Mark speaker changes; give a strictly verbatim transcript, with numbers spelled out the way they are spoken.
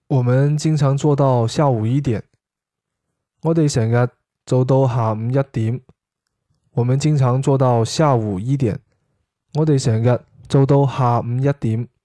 Speaker 1: 我們經常做到下午一點。我哋成日做到下午一點。我們經常做到下午一點。我哋成日做到下午一點。